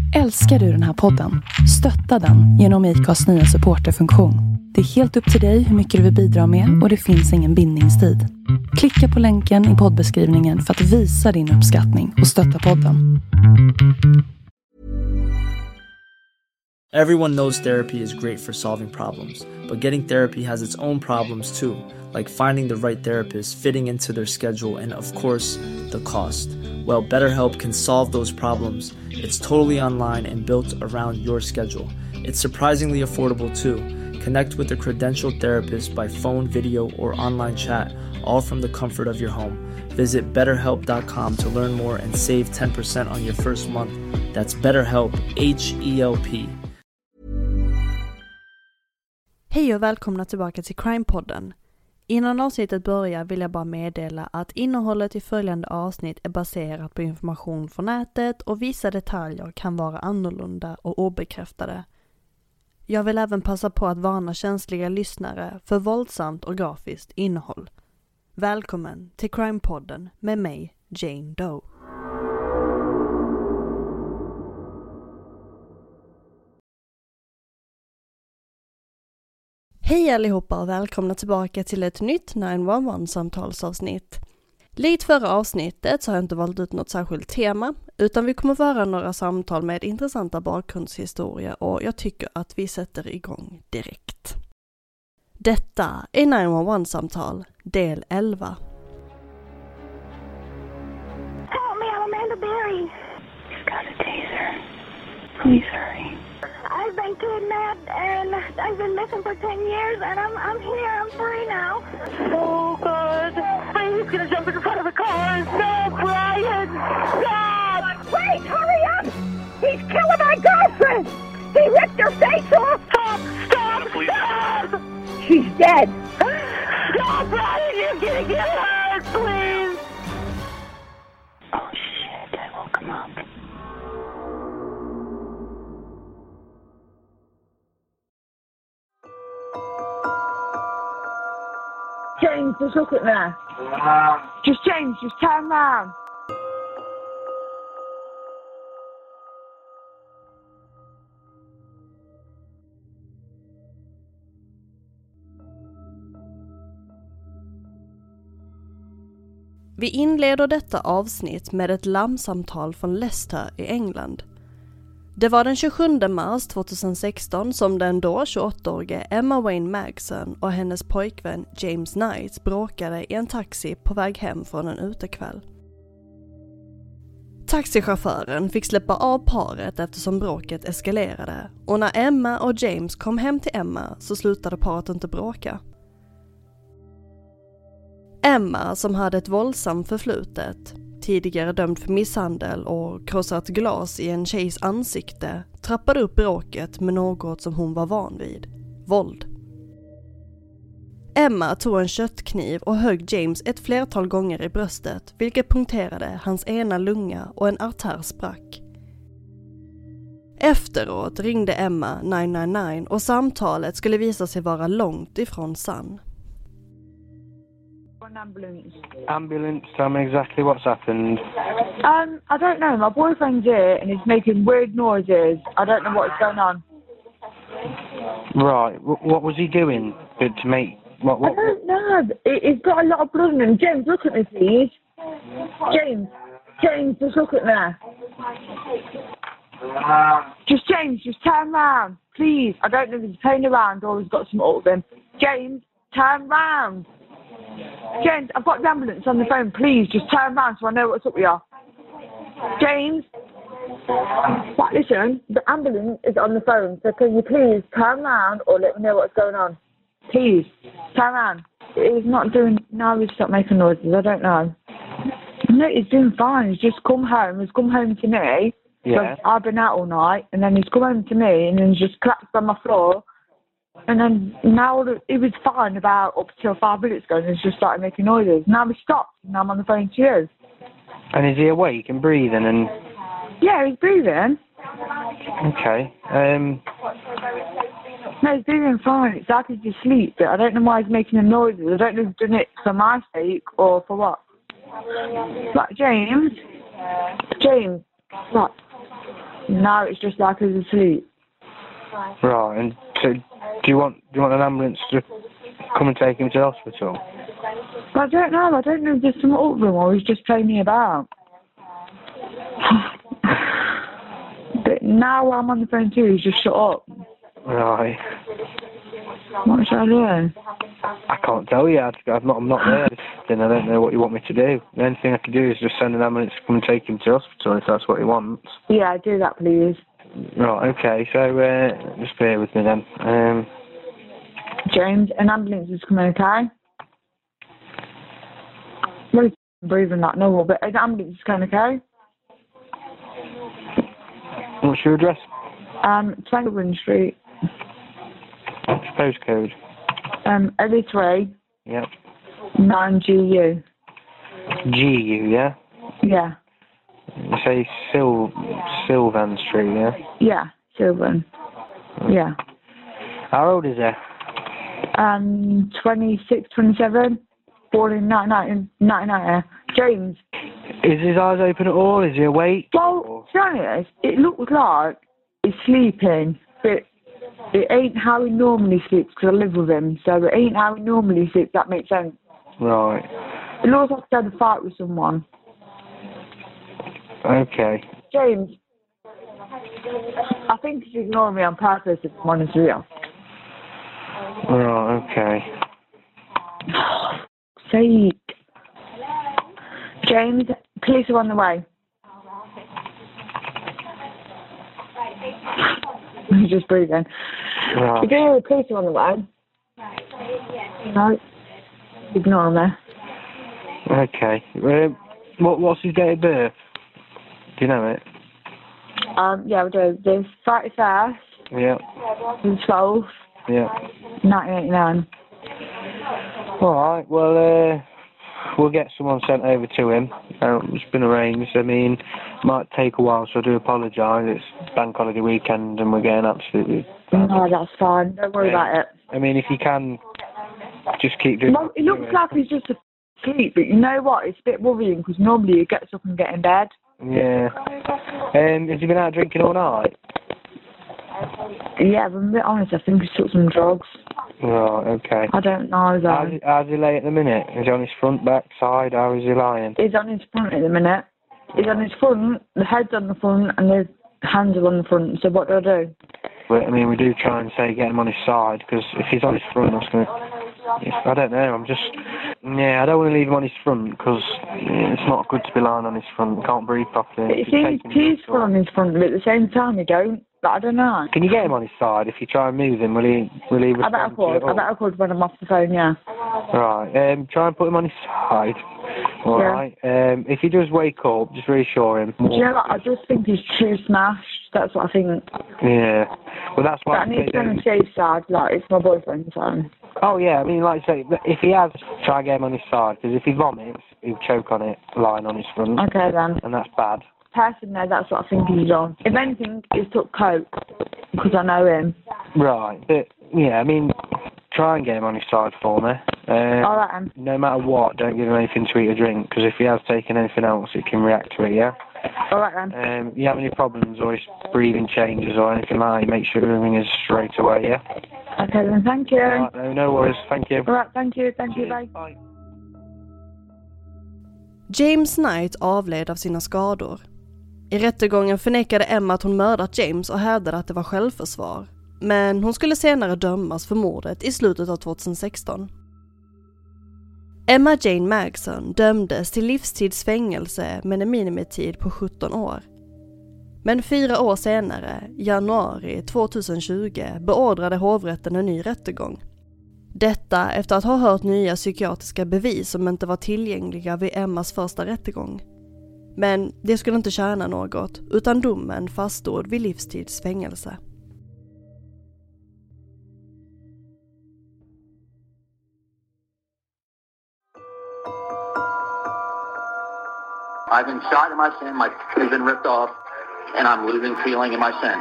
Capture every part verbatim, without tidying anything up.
Älskar du den här podden? Stötta den genom I C A:s nya supporterfunktion. Det är helt upp till dig hur mycket du vill bidra med och det finns ingen bindningstid. Klicka på länken i poddbeskrivningen för att visa din uppskattning och stötta podden. Everyone knows therapy is great for solving problems, but getting therapy has its own problems too, like finding the right therapist, fitting into their schedule, and of course, the cost. Well, BetterHelp can solve those problems. It's totally online and built around your schedule. It's surprisingly affordable too. Connect with a credentialed therapist by phone, video, or online chat, all from the comfort of your home. Visit better help dot com to learn more and save ten percent on your first month. That's BetterHelp, H E L P. Hej och välkomna tillbaka till Crime-podden. Innan avsnittet börjar vill jag bara meddela att innehållet i följande avsnitt är baserat på information från nätet och vissa detaljer kan vara annorlunda och obekräftade. Jag vill även passa på att varna känsliga lyssnare för våldsamt och grafiskt innehåll. Välkommen till Crime-podden med mig, Jane Doe. Hej allihopa och välkomna tillbaka till ett nytt nio ett ett-samtalsavsnitt. Likt förra avsnittet så har jag inte valt ut något särskilt tema, utan vi kommer få höra några samtal med intressanta bakgrundshistorier och jag tycker att vi sätter igång direkt. Detta är nio ett ett-samtal, del elva. Help me, I'm Amanda Berry. You've got a taser. Please hurry. I've been kidnapped and I've been missing for ten years and I'm I'm here, I'm free now. Oh God, he's gonna jump in front of the car. No, Brian, stop! Wait, hurry up! He's killing my girlfriend! He ripped her face off! Stop, stop, stop! She's dead! No, Brian, you're gonna get hurt, please! Oh shit, I woke him up. James, just look at me. Just James, just turn around. Vi inleder detta avsnitt med ett larmsamtal från Leicester i England. Det var den tjugosjunde mars tjugohundrasexton som den då tjugoåttaårige Emma Wayne Magson och hennes pojkvän James Knight bråkade i en taxi på väg hem från en utekväll. Taxichauffören fick släppa av paret eftersom bråket eskalerade och när Emma och James kom hem till Emma så slutade paret inte bråka. Emma, som hade ett våldsamt förflutet, tidigare dömd för misshandel och krossat glas i en tjejs ansikte, trappade upp bråket med något som hon var van vid. Våld. Emma tog en köttkniv och högg James ett flertal gånger i bröstet, vilket punkterade hans ena lunga och en artär sprack. Efteråt ringde Emma nio nio nio och samtalet skulle visa sig vara långt ifrån sann. Ambulance. Ambulance, tell me exactly what's happened. Um, I don't know. My boyfriend's here and he's making weird noises. I don't know what's going on. Right, w- what was he doing to, to make... What, what? I don't know. He- He's got a lot of blood on him. James, look at me, please. James, James, just look at me. Just James, just turn round, please. I don't know if he's playing around or he's got some up with him. James, turn round. James, I've got the ambulance on the phone. Please, just turn around so I know what's up with you. James? Right, listen, the ambulance is on the phone, so can you please turn around or let me know what's going on? Please, turn around. He's not doing... No, he's not making noises. I don't know. No, he's doing fine. He's just come home. He's come home to me. Yeah. I've been out all night, and then he's come home to me, and then he's just collapsed on my floor. And then now he was fine about up till five minutes ago and he's just started making noises. Now he stopped and now I'm on the phone to you. And is he awake and breathing and... Yeah, he's breathing. Okay. Um... No, he's breathing fine. It's like he's asleep, but I don't know why he's making the noises. I don't know if he's doing it for my sake or for what. Like, James? James, what? No, it's just like he's asleep. Right, and so do you want do you want an ambulance to come and take him to the hospital? I don't know. I don't know if there's some up with him or he's just playing me about. But now I'm on the phone too, he's just shut up. Right. What should I do? I can't tell you. I'm not, I'm not there. Then I don't know what you want me to do. The only thing I can do is just send an ambulance to come and take him to the hospital if that's what he wants. Yeah, do that, please. Right, okay. So, uh, just bear with me then. Um, James, an ambulance is coming, okay? Well, he's breathing that no, but an ambulance is coming, okay? what's your address? Um, twenty-one Street. What's your postcode? Um, L three. Yep. nine G U. G U, yeah? Yeah. You say Sil Sylvan Street, yeah? Yeah, Sylvan. Yeah. How old is he? Um, twenty-six, twenty-seven. Born in nineteen ninety. James. Is his eyes open at all? Is he awake? Well, to be honest, it looks like he's sleeping, but it ain't how he normally sleeps because I live with him, so it ain't how he normally sleeps, that makes sense. Right. It looks like he's had a fight with someone. Okay. James, I think he's ignoring me on purpose, if I'm honest with you. Right, okay. Sake. James, police are on the way. He's just breathing. Right. You can hear the police are on the way. No. Ignore me. Okay. Um, what, what's his date of birth? Do you know it? Um, yeah, we'll do the thirty-first, Yeah. the twelfth, Yeah. nineteen eighty-nine. Alright, well, uh, we'll get someone sent over to him. Um, it's been arranged. I mean, it might take a while, so I do apologise. It's bank holiday weekend and we're getting absolutely... No, that's fine. Don't worry Yeah. about it. I mean, if you can, just keep doing... Well, it looks like he's just asleep, but you know what? It's a bit worrying because normally he gets up and gets in bed. Yeah. Um, has he been out drinking all night? Yeah, but I'm a bit honest, I think he took some drugs. Right, okay. I don't know, though. How's he, how's he lay at the minute? Is he on his front, back, side? How is he lying? He's on his front at the minute. He's on his front, the head's on the front, and the hands are on the front, so what do I do? But, I mean, we do try and say get him on his side, because if he's on his front, that's going to... I don't know, I'm just... Yeah, I don't want to leave him on his front, because yeah, it's not good to be lying on his front. He can't breathe properly. It seems peaceful on his front, but at the same time, he don't. But I don't know. Can you get him on his side? If you try and move him, will he will he respond? I better call. I better call when I'm off the phone, yeah. Right, um, try and put him on his side. All Yeah. right. Um, if he does wake up, just reassure him. Do you know what? I just think he's too smashed. That's what I think. Yeah. Well, that's But why I need to be on the safe side. Like, it's my boyfriend, so. Oh, yeah, I mean, like I say, if he has, try and get him on his side, because if he vomits, he'll choke on it, lying on his front. Okay, then. And that's bad. Personally, that's what I think he's on. If anything, he's took coke, because I know him. Right. But, yeah, I mean, try and get him on his side for me. Um, All right, then. No matter what, don't give him anything to eat or drink, because if he has taken anything else, it can react to it, yeah? All right, then. Um, if you have any problems or his breathing changes or anything like that, make sure everything is straight away, yeah? Okay, then. Thank you. Right, no, no worries. Thank you. All right, thank you. Thank you. Cheers. Bye. Bye. James Knight avled av sina skador. I rättegången förnekade Emma att hon mördat James och hävdade att det var självförsvar. Men hon skulle senare dömas för mordet i slutet av tjugohundrasexton. Emma Jane Magson dömdes till livstidsfängelse med en minimitid på sjutton år. Men fyra år senare, januari tjugohundratjugo, beordrade hovrätten en ny rättegång. Detta efter att ha hört nya psykiatriska bevis som inte var tillgängliga vid Emmas första rättegång. Men det skulle inte tjäna något, utan domen faststod vid livstidsfängelse. I've been shot in my sin, my has been ripped off, and I'm losing feeling in my sin.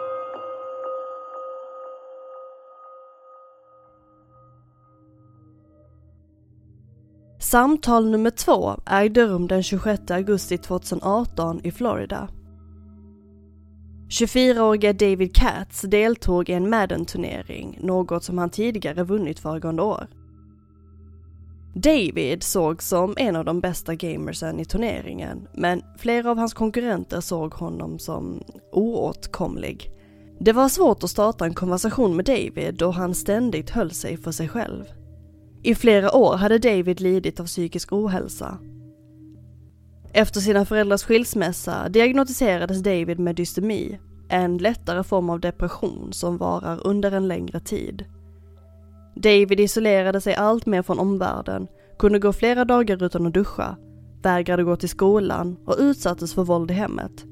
Samtal nummer två ägde rum den tjugosjätte augusti tjugohundraarton i Florida. tjugofyraårige David Katz deltog i en Madden-turnering, något som han tidigare vunnit föregående år. David såg som en av de bästa gamersen i turneringen, men flera av hans konkurrenter såg honom som oåtkomlig. Det var svårt att starta en konversation med David då han ständigt höll sig för sig själv. I flera år hade David lidit av psykisk ohälsa. Efter sina föräldrars skilsmässa diagnostiserades David med dystemi, en lättare form av depression som varar under en längre tid. David isolerade sig allt mer från omvärlden, kunde gå flera dagar utan att duscha, vägrade gå till skolan och utsattes för våld i hemmet.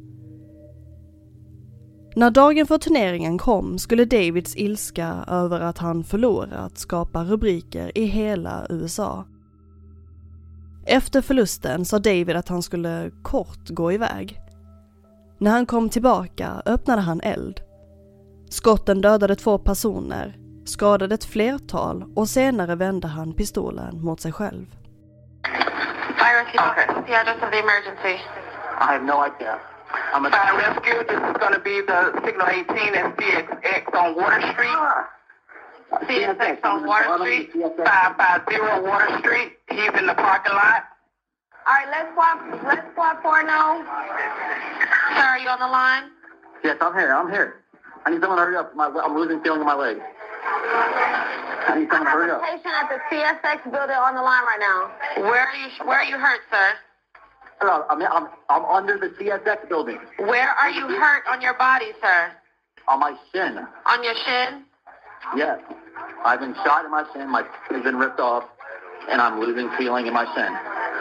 När dagen för turneringen kom skulle Davids ilska över att han förlorat skapa rubriker i hela U S A. Efter förlusten sa David att han skulle kort gå iväg. När han kom tillbaka öppnade han eld. Skotten dödade två personer, skadade ett flertal och senare vände han pistolen mot sig själv. Fire rescue. Okay. What's the address of the emergency? I have no idea. I'm a Fire rescue. This is going to be the signal eighteen and C X X on Water Street. C S X on Water Street. five five zero Water Street. He's in the parking lot. All right, let's walk. Let's walk for now. Sir, are you on the line? Yes, I'm here. I'm here. I need someone to hurry up. My, I'm losing feeling in my leg. I need someone to hurry up. I have a patient at the C S X building on the line right now. Where are you? Where are you hurt, sir? Hello, I'm, I'm, I'm under the C S X building. Where are you hurt on your body, sir? On my shin. On your shin? Yes. I've been shot in my shin. My skin has been ripped off, and I'm losing feeling in my shin.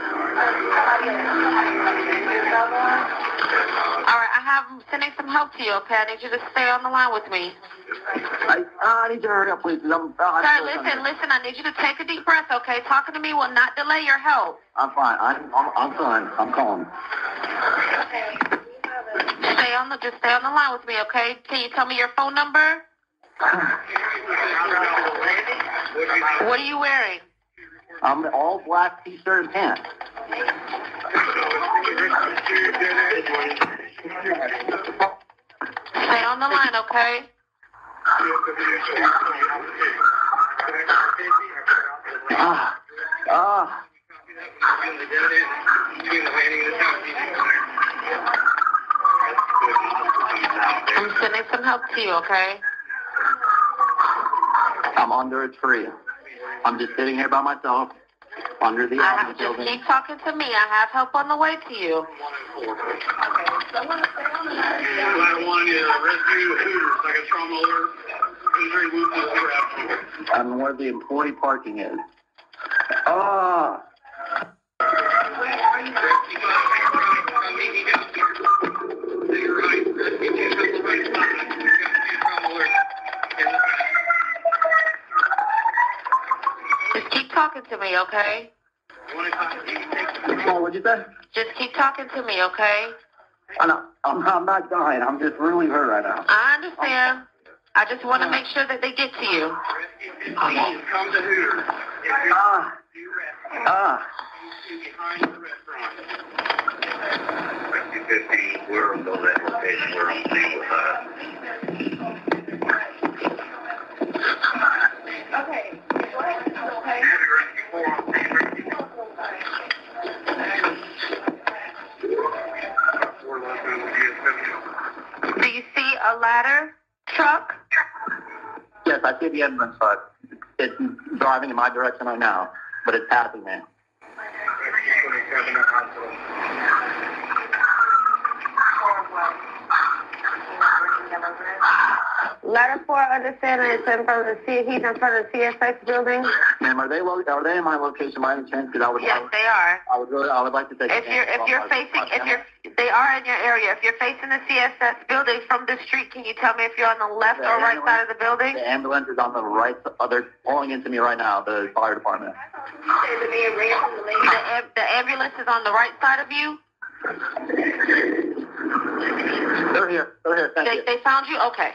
All right, I have I'm sending some help to you, okay? I need you to stay on the line with me. I, I need you to hurry up, please. I'm, I'm Sir, listen, listen. I need you to take a deep breath, okay? Talking to me will not delay your help. I'm fine. I'm, I'm, I'm fine. I'm calm. Stay on the, just stay on the line with me, okay? Can you tell me your phone number? What are you wearing? I'm all black t-shirt and pants. Stay on the line, okay? Ah, ah. I'm sending some help to you, okay? I'm under a tree. I'm just sitting here by myself under the I have, just building. keep talking to me. I have help on the way to you. I'm where the employee parking is. Ah. Just keep talking to me, okay? Oh, what'd you say? Just keep talking to me, okay? I'm not, I'm, I'm not dying. I'm just really hurt right now. I understand. I just want to make sure that they get to you. Please come to Hooters. Ah. Ah. fifteen, we're on the location. We're on scene with us. Okay. Okay. Do you see a ladder truck? Yes, I see the ambulance truck. It's driving in my direction right now, but it's passing me. Letter four, understand it's in front of the C. He's in front of the C S X building. Ma'am, are they lo- are they in my location by any chance? Because I would. Yes, they are. I would really. I would like to take. If you're if you're facing if you're they are in your area. If you're facing the C S S building from the street, can you tell me if you're on the left The or right ambulance- side of the building? The ambulance is on the right. Oh, they're pulling into me right now. The fire department. The, am- the ambulance is on the right side of you. They're here. They're here. Thank They you. they found you. Okay.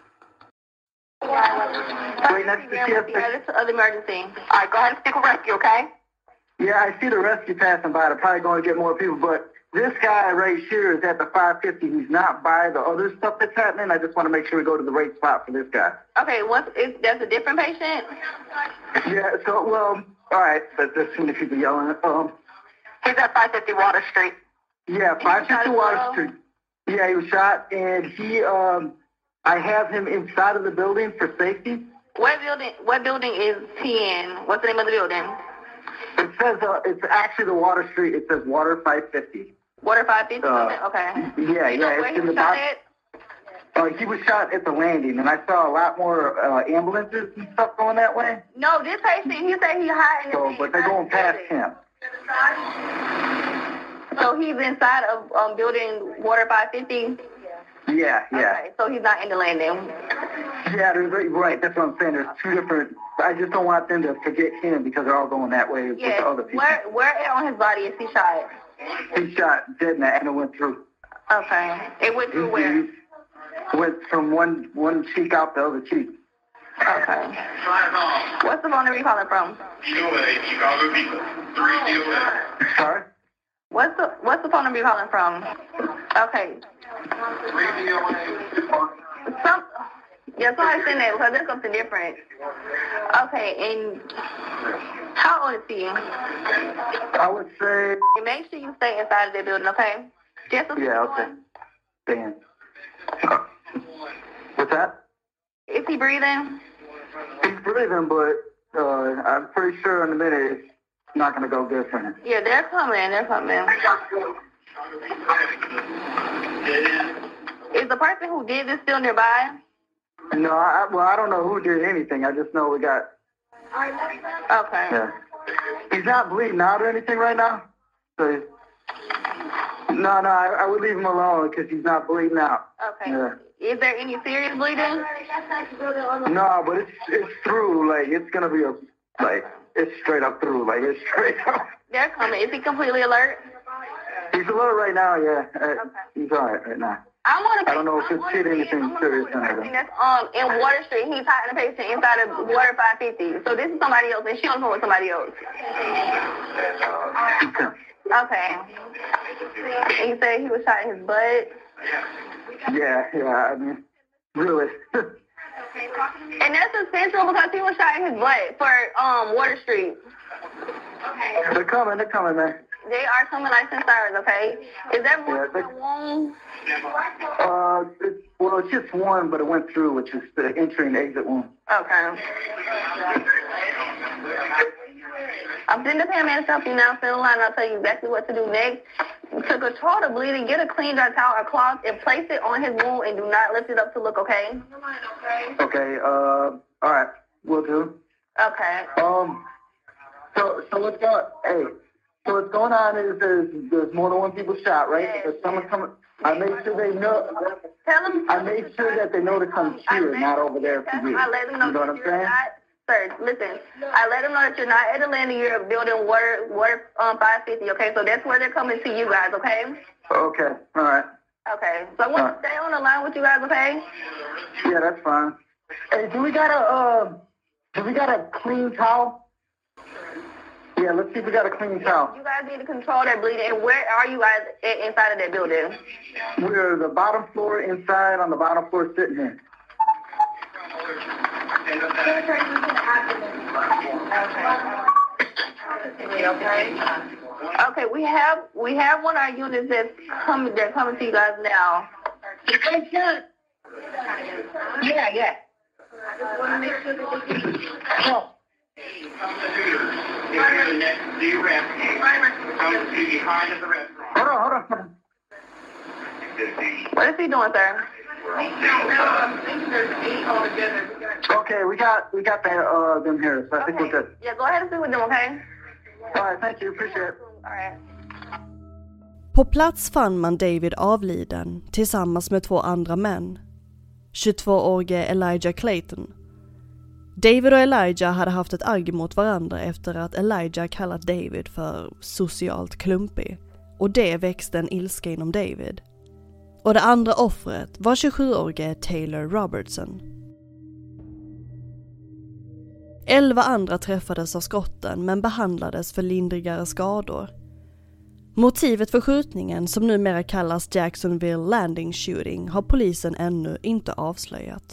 Right next to C S X. Yeah, this is an emergency. All right, go ahead and stick with rescue, okay? Yeah, I see the rescue passing by. They're probably going to get more people, but this guy right here is at the five fifty. He's not by the other stuff that's happening. I just want to make sure we go to the right spot for this guy. Okay, what's is that's a different patient? Yeah. So well, all right. But there's too many people yelling. Um. He's at five fifty Water Street. Yeah, five fifty Water Street. Yeah, he was shot, and he um. I have him inside of the building for safety. What building? What building is he in? What's the name of the building? It says uh, it's actually the Water Street. It says Water five fifty. Water five fifty. Uh, okay. Yeah, you yeah. Know where it's he in was the shot box. at? Uh, he was shot at the landing, and I saw a lot more uh, ambulances and stuff going that way. No, this patient, he said he hiding. So, but they're going past him. So he's inside of um, building Water five fifty. Yeah, yeah. Okay, so he's not in the landing. Yeah, right. That's what I'm saying. There's two different. I just don't want them to forget him because they're all going that way yeah. with the other people. Where, where on his body is he shot? He shot dead and it went through. Okay. It went through he, where? He went from one one cheek out the other cheek. Okay. What's the phone number you calling from? Sorry? What's the What's the phone number you calling from? Okay. Some, yeah, somebody send that because there's something different. Okay, and how old is he? I would say. Make sure you stay inside of the building, okay? Just yeah, okay. Damn. What's that? Is he breathing? He's breathing, but uh, I'm pretty sure in a minute it's not going to go good for him. Yeah, they're coming. They're coming. Is the person who did this still nearby? No, I, well, I don't know who did anything. I just know we got... Okay. Yeah. He's not bleeding out or anything right now. So, no, no, I, I would leave him alone because he's not bleeding out. Okay. Yeah. Is there any serious bleeding? No, but it's it's through. Like, it's going to be a... Like, it's straight up through. Like, it's straight up. They're coming. Is he completely alert? He's alert right now, yeah. Uh, okay. He's all right right now. I want to. I don't know if it's hit anything serious on him. That's um in Water Street. He's hiding the patient inside of Water five fifty. So this is somebody else, and she don't know with somebody else. Okay. And you said he was shot in his butt. Yeah, yeah. I mean, really. And that's essential because he was shot in his butt for um Water Street. They're coming. They're coming, man. They are coming like ten sirens, okay? Is that more yeah, than one? Uh, it's, well, it's just one, but it went through, which is the entry and exit wound. Okay. I'm sending the paramedics help you now. Stay in line, and I'll tell you exactly what to do next. To control the bleeding, get a clean dry towel or cloth and place it on his wound and do not lift it up to look, okay? Okay, uh, all right. Will do. Okay. Um, so, so what's going Hey. So what's going on is there's, there's more than one people shot, right? Yes. There's someone coming. I made sure they know. Tell them. I made sure that they know to come here, not over there for you. I let them know you know what I'm saying? Not, sir, listen. I let them know that you're not at the landing. You're building water, water um, five fifty. Okay, so that's where they're coming to you guys. Okay. Okay. All right. Okay. So I want right. to stay on the line with you guys. Okay. Yeah, that's fine. Hey, do we got a uh, do we got a clean towel? Yeah, let's see if we got a clean towel. You guys need to control that bleeding. And where are you guys at, inside of that building? We're the bottom floor inside on the bottom floor sitting here. Okay. Okay, we have we have one of our units that's coming they're coming to you guys now. Yeah, yeah. Oh. Hold on, hold on. What is he doing, sir? Okay, we got we got the, uh, them here, so I okay. think we're good. Yeah, go ahead and speak with them, okay? All right, thank you, appreciate it. All right. På plats fann man David avliden tillsammans med två andra män. tjugotvåårige Elijah Clayton. David och Elijah hade haft ett agg mot varandra efter att Elijah kallat David för socialt klumpig. Och det växte en ilska inom David. Och det andra offret var tjugosjuårige Taylor Robertson. Elva andra träffades av skotten men behandlades för lindrigare skador. Motivet för skjutningen, som numera kallas Jacksonville Landing Shooting, har polisen ännu inte avslöjat.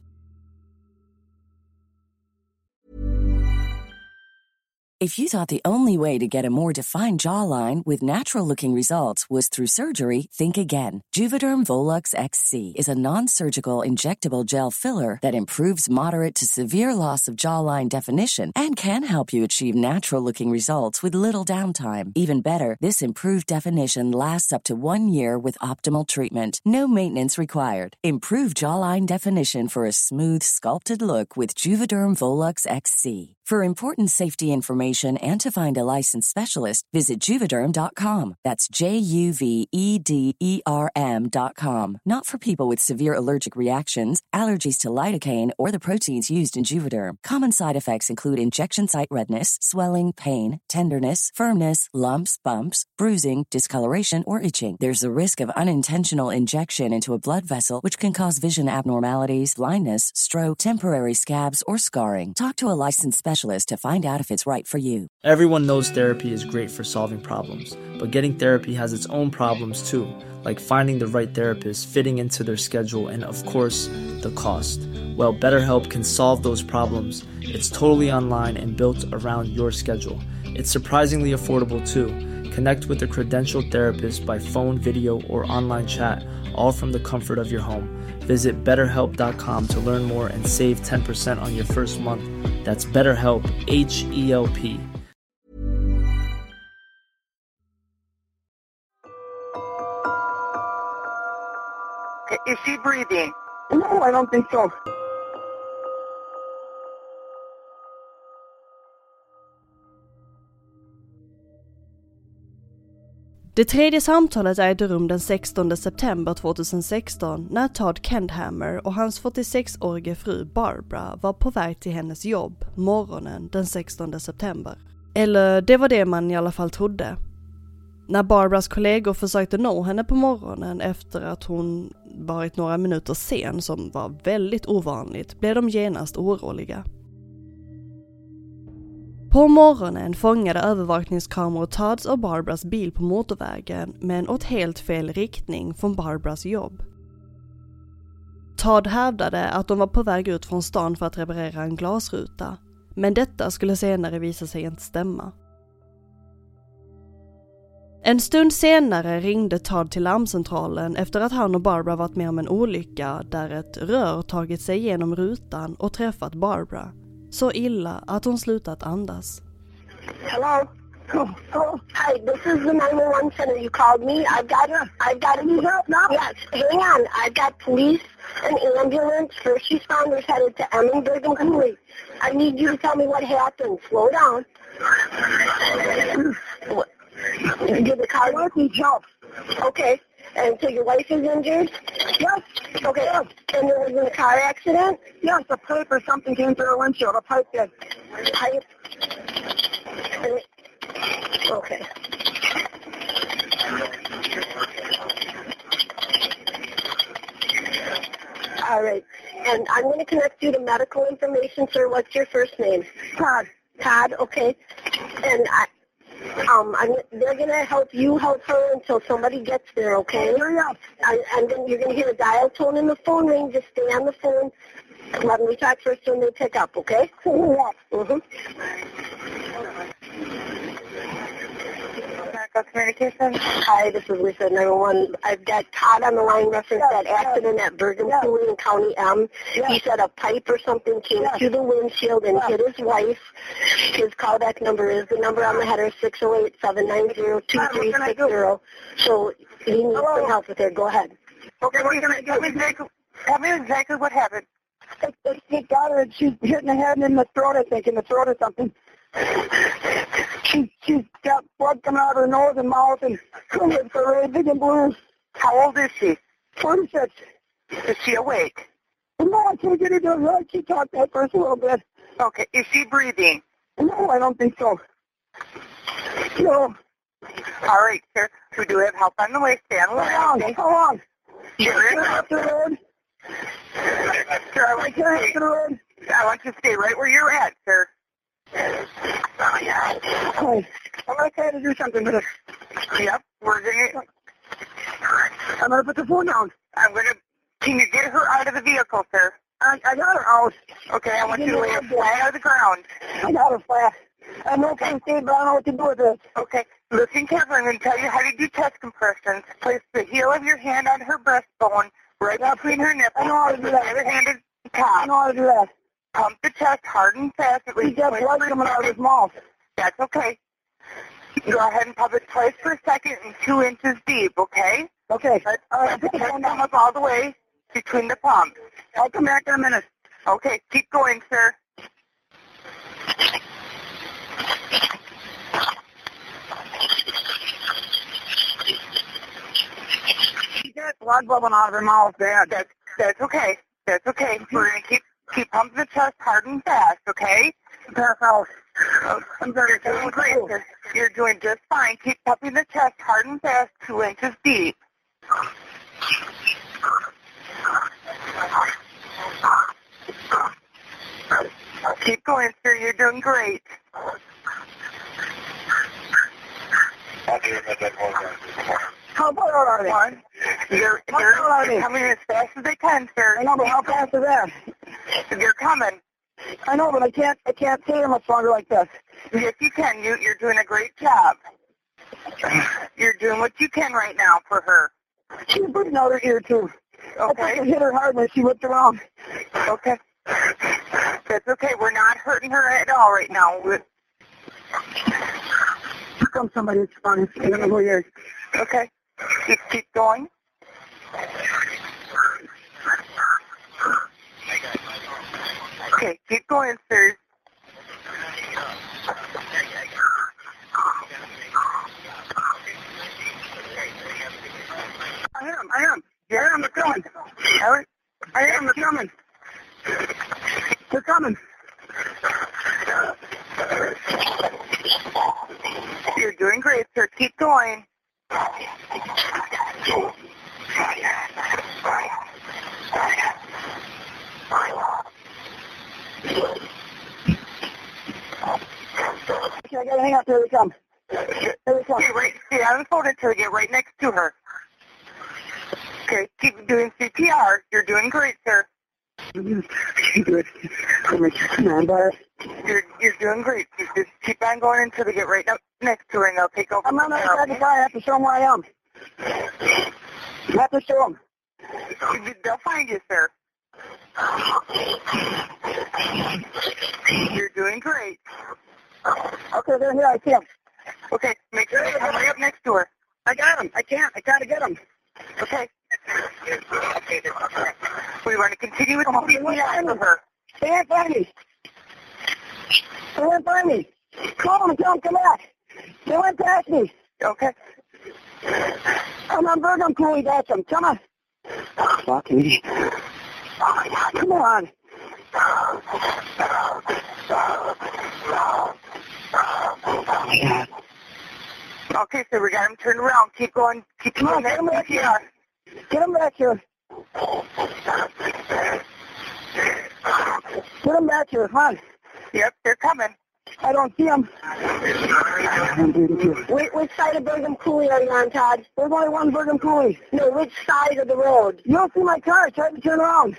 If you thought the only way to get a more defined jawline with natural-looking results was through surgery, think again. Juvederm Volux X C is a non-surgical injectable gel filler that improves moderate to severe loss of jawline definition and can help you achieve natural-looking results with little downtime. Even better, this improved definition lasts up to one year with optimal treatment. No maintenance required. Improve jawline definition for a smooth, sculpted look with Juvederm Volux X C. For important safety information and to find a licensed specialist, visit Juvederm dot com. That's J U V E D E R M dot com. Not for people with severe allergic reactions, allergies to lidocaine, or the proteins used in Juvederm. Common side effects include injection site redness, swelling, pain, tenderness, firmness, lumps, bumps, bruising, discoloration, or itching. There's a risk of unintentional injection into a blood vessel, which can cause vision abnormalities, blindness, stroke, temporary scabs, or scarring. Talk to a licensed specialist to find out if it's right for you. Everyone knows therapy is great for solving problems, but getting therapy has its own problems too, like finding the right therapist, fitting into their schedule, and of course, the cost. Well, BetterHelp can solve those problems. It's totally online and built around your schedule. It's surprisingly affordable too. Connect with a credentialed therapist by phone, video, or online chat, all from the comfort of your home. Visit better help dot com to learn more and save ten percent on your first month. That's BetterHelp, H E L P. Is she breathing? No, I don't think so. Det tredje samtalet ägde rum den sextonde september tjugohundrasexton när Todd Kendhammer och hans fyrtiosexårige fru Barbara var på väg till hennes jobb morgonen den sextonde september. Eller det var det man i alla fall trodde. När Barbaras kollegor försökte nå henne på morgonen efter att hon varit några minuter sen, som var väldigt ovanligt, blev de genast oroliga. På morgonen fångade övervakningskameror Todds och Barbaras bil på motorvägen, men åt helt fel riktning från Barbaras jobb. Todd hävdade att de var på väg ut från stan för att reparera en glasruta, men detta skulle senare visa sig inte stämma. En stund senare ringde Todd till larmcentralen efter att han och Barbara varit med om en olycka där ett rör tagit sig genom rutan och träffat Barbara. Så illa att hon slutat andas. Hello? Oh, oh. Hi, this is the nine one one center. You called me. I've got, I've got any help now? Yes, hang on. I've got police, an ambulance, first responders headed to Emmonsburg and Cooley. I need you to tell me what happened. Slow down. Did the car work? Need help. Okay. And so your wife is injured? Yes. Okay. Yes. And there was a car accident? Yes, a pipe or something came through her windshield. A pipe did. Pipe? Okay. All right. And I'm going to connect you to medical information, sir. What's your first name? Todd. Todd, okay. And I... Um, I'm, they're going to help you help her until somebody gets there, okay? Hurry up. I, and then you're going to hear a dial tone in the phone ring. Just stay on the phone. Let me talk first when they pick up, okay? Yeah. Mm-hmm. Communication. Hi, this is Lisa, nine one one. I've got Todd on the line reference yes, that accident yes. at Bergen yes. Cooley in County M. Yes. He said a pipe or something came yes. through the windshield and yes. hit his wife. His callback number is the number on the header, six oh eight, seven nine zero, two three six zero. So he needs Hello. some help with it. Go ahead. Okay, what are you going to do? Tell me exactly, tell me exactly what happened. She got her and she's hitting the head and in the throat, I think, in the throat or something. She, she's got blood coming out of her nose and mouth and it's really big and blue. How old is she? forty-six. Is she awake? No, I can't get her to her. She talked that first a little bit. Okay. Is she breathing? No, I don't think so. No. All right, sir. We do have help on the way. Stay on the line. How long? Okay? How long? You're off the road. Sir, I want, you to stay, the road. I want you to stay right where you're at, sir. Oh, yeah. Okay. I'm going to try to do something with it. Yep, we're gonna... I'm gonna put the phone down. I'm gonna... Can you get her out of the vehicle, sir? I, I got her out. Okay, I want you to lay her flat on the ground. I got her flat. I have no pain, but I don't know what to do with this. Okay, listen carefully. I'm going to tell you how to do chest compressions. Place the heel of your hand on her breastbone, right between her nipples. I know how to do that. The other hand is the I top. know how to do that. Pump the chest hard and fast. At He's least got twice blood per coming out of his second. mouth. That's okay. Go ahead and pump it twice per second and two inches deep, okay? Okay. Let, All right, let the put the chest phone come down. up all the way between the pumps. I'll come back in a minute. Okay, keep going, sir. She got blood bubbling out of her mouth, Dad. That's, that's okay. That's okay. We're going to keep keep pumping the chest hard and fast, okay? Pass out. I'm very doing great, sir. You're doing just fine. Keep pumping the chest hard and fast, two inches deep. Keep going, sir. You're doing great. How far out are they? One. They're, How they're, far are they're they? coming as fast as they can, sir. I know, but how fast is that? They're coming. I know, but I can't. I can't stay here much longer like this. Yes, you can. You, you're doing a great job. You're doing what you can right now for her. She's bleeding out her ear too. I think I Okay? hit her hard when she whipped around. Okay. That's okay. We're not hurting her at all right now. We're, Here comes somebody that's funny. I don't know who he is. okay. Just keep going. Okay, keep going, sir. I am. I am. Yeah, I am. They're coming. All right. I am. They're coming. They're coming. You're doing great, sir. Keep going. Okay, I gotta hang up. Here they come. Here they come. Stay right, stay on the phone until you get right next to her. Okay, keep doing C P R. You're doing great, sir. Good. Come on, brother. You're you're doing great. You just keep on going until they get right up next to her, and they'll take over. I'm not from there, outside the okay? car. I have to show them where I am. I have to show them. They'll find you, sir. You're doing great. Okay, they're here. I see them. Okay, make sure they come right up next to her. I got them. I can't. I gotta get them. Okay. We want to continue with the C P R for her. They can't find me. They went by me. Call them and tell them come back. They went past me. Okay. I'm on Bergam Cooley. That's them. Come on. Fucking idiot. Oh my God. Come on. Oh my God. Okay, so we got him turned around. Keep going. Keep Come on, doing get him that back C P here. R. Get him back here. Get him back here. Come on. Yep, they're coming. I don't see him. Wait, which side of Bergam Cooley are you on, Todd? There's only one Bergam Cooley. No, which side of the road? You don't see my car. Try to turn around.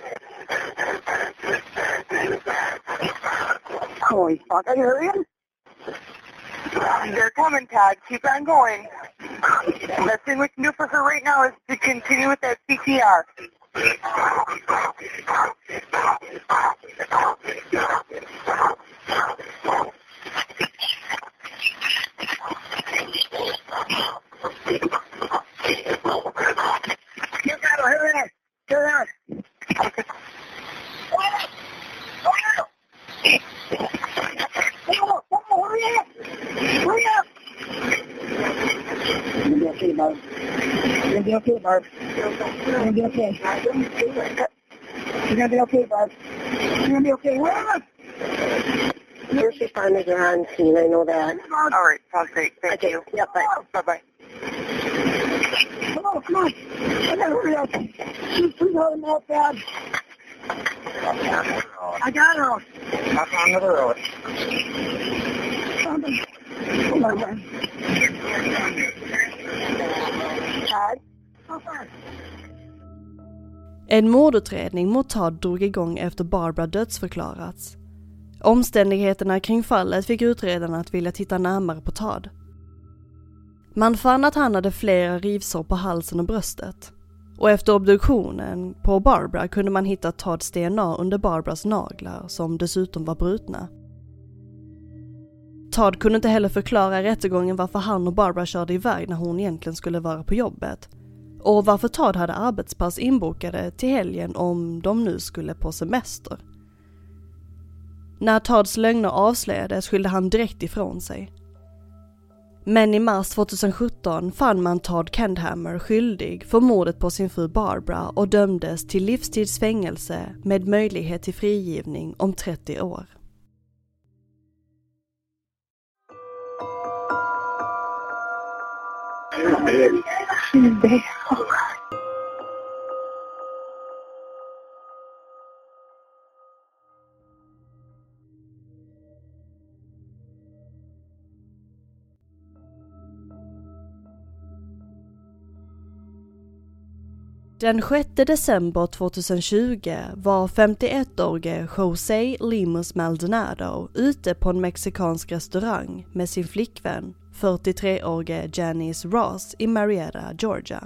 Holy fuck. Are you hurrying? They're coming, Todd. Keep on going. The best thing we can do for her right now is to continue with that C P R. You gotta hurry up. Hurry up. Oh, oh, hurry up. Hurry up. You're gonna be okay, Barb. You're gonna be okay, Barb. You're gonna be okay. You're gonna be okay, Barb. You're gonna be okay. Hurry up. First responders are on scene, I know that. All right, sounds great. Thank Okay, you. yep, bye. Bye-bye. Come on, come on. I gotta hurry up. She's too hard out bad. I got her. Up on the road. En mordutredning mot Todd drog igång efter Barbara dödsförklarats. Omständigheterna kring fallet fick utredarna att vilja titta närmare på Todd. Man fann att han hade flera rivsår på halsen och bröstet. Och efter obduktionen på Barbara kunde man hitta Todds D N A under Barbaras naglar som dessutom var brutna. Todd kunde inte heller förklara i rättegången varför han och Barbara körde iväg när hon egentligen skulle vara på jobbet. Och varför Todd hade arbetspass inbokade till helgen om de nu skulle på semester. När Todds lögner avslöjades skyllde han direkt ifrån sig. Men i mars tjugohundrasjutton fann man Todd Kendhammer skyldig för mordet på sin fru Barbara och dömdes till livstidsfängelse med möjlighet till frigivning om trettio år. Den sjätte december tjugohundratjugo var femtioettårige José Lemus Maldonado ute på en mexikansk restaurang med sin flickvän, fyrtiotreårige Janice Ross i Marietta, Georgia.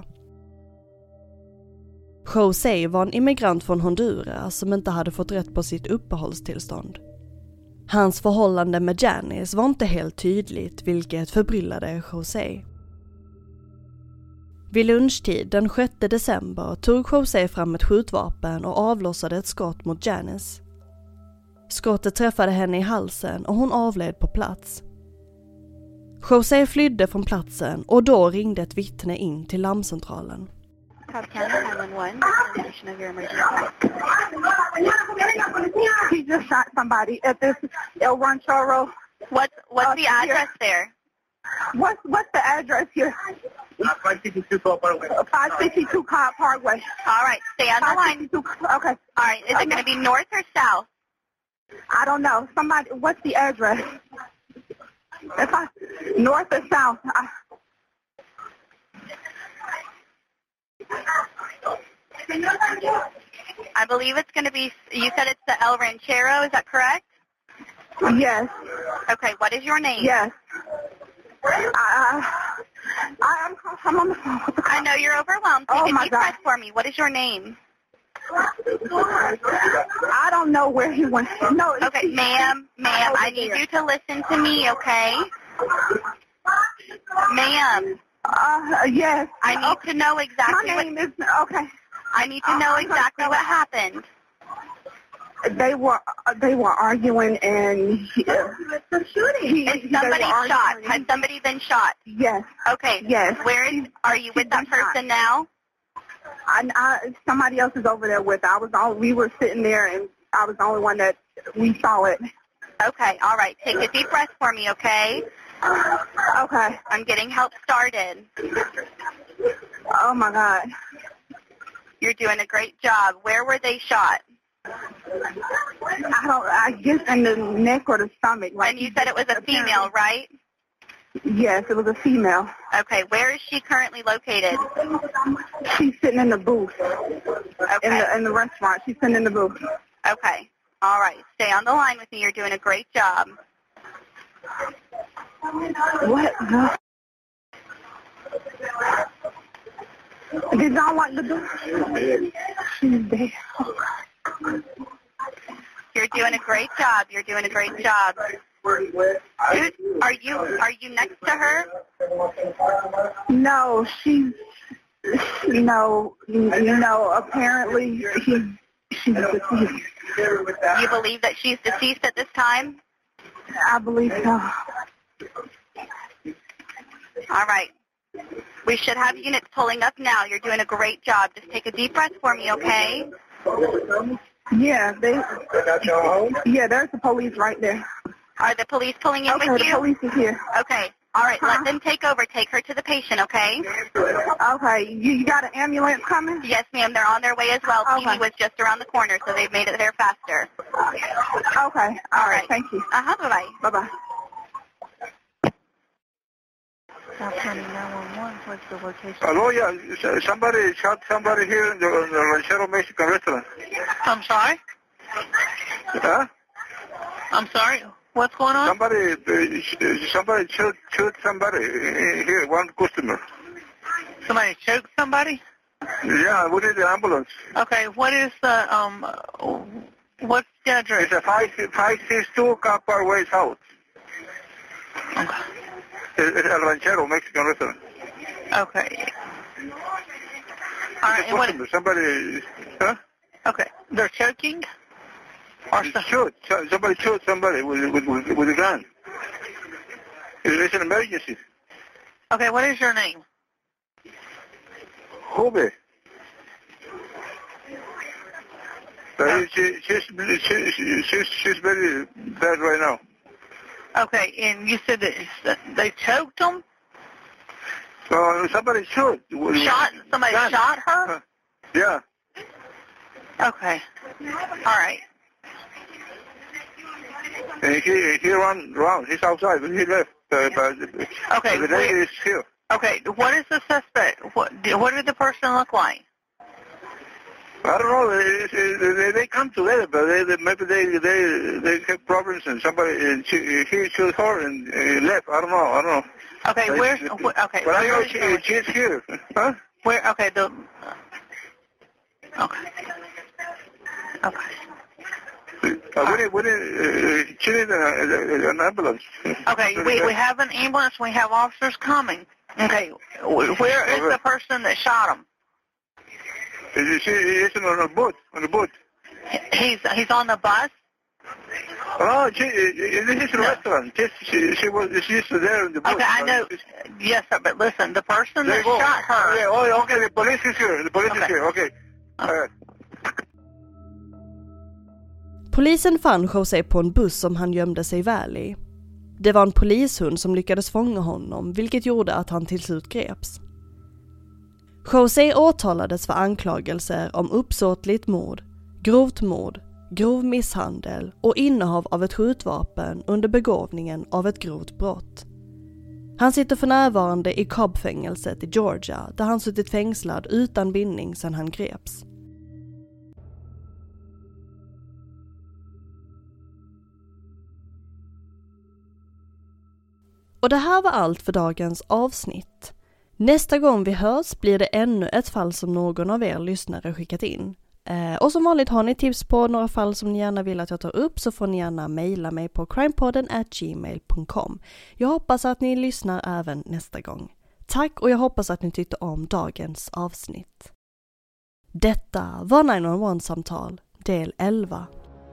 José var en immigrant från Honduras som inte hade fått rätt på sitt uppehållstillstånd. Hans förhållande med Janice var inte helt tydligt, vilket förbryllade José. Vid lunchtid den sjätte december tog José fram ett skjutvapen och avlossade ett skott mot Janice. Skottet träffade henne i halsen och hon avled på plats. José flydde från platsen och då ringde ett vittne in till larmcentralen. He just shot somebody at this El Ranchero. What's what's the address there? What's what's the address here? five sixty-two Cobb Parkway. five sixty-two Cobb Parkway. All right, stay on the line. Okay. All right, is it going to be north or south? I don't know. Somebody, what's the address? If I north or south? I, I believe it's going to be. You said it's the El Ranchero. Is that correct? Yes. Okay. What is your name? Yes. I, I, I'm, I'm on the phone. I know you're overwhelmed. Take Oh, a my deep God. breath for me. What is your name? I don't know where he went. No. Okay, ma'am, ma'am, I need you to listen to me, okay? Ma'am. Uh, yes. I need okay. to know exactly My what... name is, okay. I need to know exactly what happened. They were they were arguing and he, uh, he, Is somebody shot? arguing. Has somebody been shot? Yes. Okay. Yes. Where is? Are you with that person now? I, I, somebody else is over there with her. I was all, we were sitting there and I was the only one that we saw it. Okay. All right. Take a deep breath for me, okay? Okay. I'm getting help started. Oh my God. You're doing a great job. Where were they shot? I don't. I guess in the neck or the stomach. Like And you said it was a female, right? Yes, it was a female. Okay. Where is she currently located? She's sitting in the booth. Okay. In the in the restaurant. She's sitting in the booth. Okay. All right. Stay on the line with me. You're doing a great job. What the? Did y'all like the door? She's dead. You're doing a great job. You're doing a great job. Who, are you are you next to her? No, she's no, no. Apparently, she's she's deceased. You believe that she's deceased at this time? I believe so. All right. We should have units pulling up now. You're doing a great job. Just take a deep breath for me, okay? Yeah, they. Yeah, there's the police right there. Are the police pulling in Okay, with the you? police is here. Okay. All right. Uh-huh. Let them take over. Take her to the patient, okay? Okay, you, you got an ambulance coming? Yes, ma'am. They're on their way as well. Okay. T V was just around the corner, so they've made it there faster. Okay, all right, thank you. Uh-huh. Bye-bye. Bye-bye. South County nine one one, what's the location? Hello, yeah, somebody shot somebody here in the, in the Ranchero Mexican restaurant. I'm sorry? Huh? I'm sorry? What's going on? Somebody, uh, somebody shoot, shoot somebody here, one customer. Somebody choked somebody? Yeah, we need the ambulance. Okay, what is the, um, what's the address? It's a five five six two Copper Way South. Okay. It's El Ranchero Mexican restaurant. Okay. All right, and what, somebody, huh? okay, they're choking? Or so, shoot, somebody shoot somebody with, with, with, with a gun. It's an emergency. okay, what is your name? Hube. Uh, she, she's, she, she, she's, she's very bad right now. Okay, and you said that they choked them? Uh, somebody shoot. Shot? Somebody gun. shot her? Uh, yeah. Okay. All right. And he, he ran around. He's outside, but he left. Uh, but, Okay, the lady is here. Okay, what is the suspect? What, what did the person look like? I don't know. They, they, they come together, but they, they, maybe they they they have problems, and somebody uh, she, he shot her and uh, left. I don't know. I don't know. Okay, but where's wh- okay? But I where know is she, the- she's here. Huh? Where? Okay, the. Okay. Okay. Uh, we need, we need, uh, she needs an, an ambulance. Okay, we we have an ambulance. We have officers coming. Okay, wh- where is the person that shot him? She is on the boat. On the boat. He's he's on the bus. Oh, she, this is a No. restaurant. She, she, she was she's there in the boat. Okay, I know. Yes, sir. But listen, the person that shot her. Yeah, oh, okay. The police is here. The police Okay. is here. Okay. All right. Polisen fann Jose på en buss som han gömde sig väl i. Det var en polishund som lyckades fånga honom, vilket gjorde att han till slut greps. Jose åtalades för anklagelser om uppsåtligt mord, grovt mord, grov misshandel och innehav av ett skjutvapen under begåvningen av ett grovt brott. Han sitter för närvarande i Cobb-fängelset i Georgia, där han suttit fängslad utan bindning sedan han greps. Och det här var allt för dagens avsnitt. Nästa gång vi hörs blir det ännu ett fall som någon av er lyssnare skickat in. Eh, och som vanligt har ni tips på några fall som ni gärna vill att jag tar upp, så får ni gärna mejla mig på crimepodden at gmail dot com. Jag hoppas att ni lyssnar även nästa gång. Tack, och jag hoppas att ni tyckte om dagens avsnitt. Detta var nio ett ett-samtal del elva.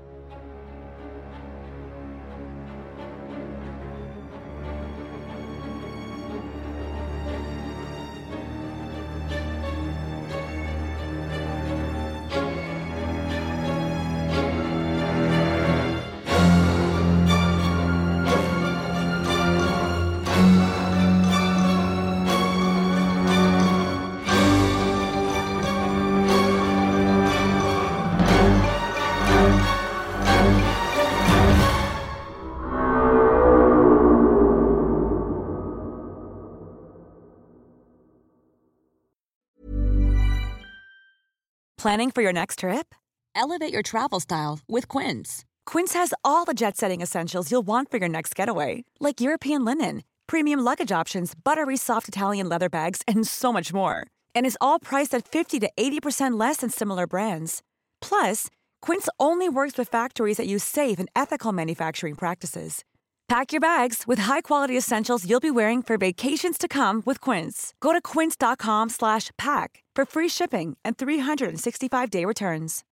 Planning for your next trip? Elevate your travel style with Quince. Quince has all the jet-setting essentials you'll want for your next getaway, like European linen, premium luggage options, buttery soft Italian leather bags, and so much more. And is all priced at fifty to eighty percent less than similar brands. Plus, Quince only works with factories that use safe and ethical manufacturing practices. Pack your bags with high-quality essentials you'll be wearing for vacations to come with Quince. Go to quince dot com slash pack for free shipping and three hundred sixty-five day returns.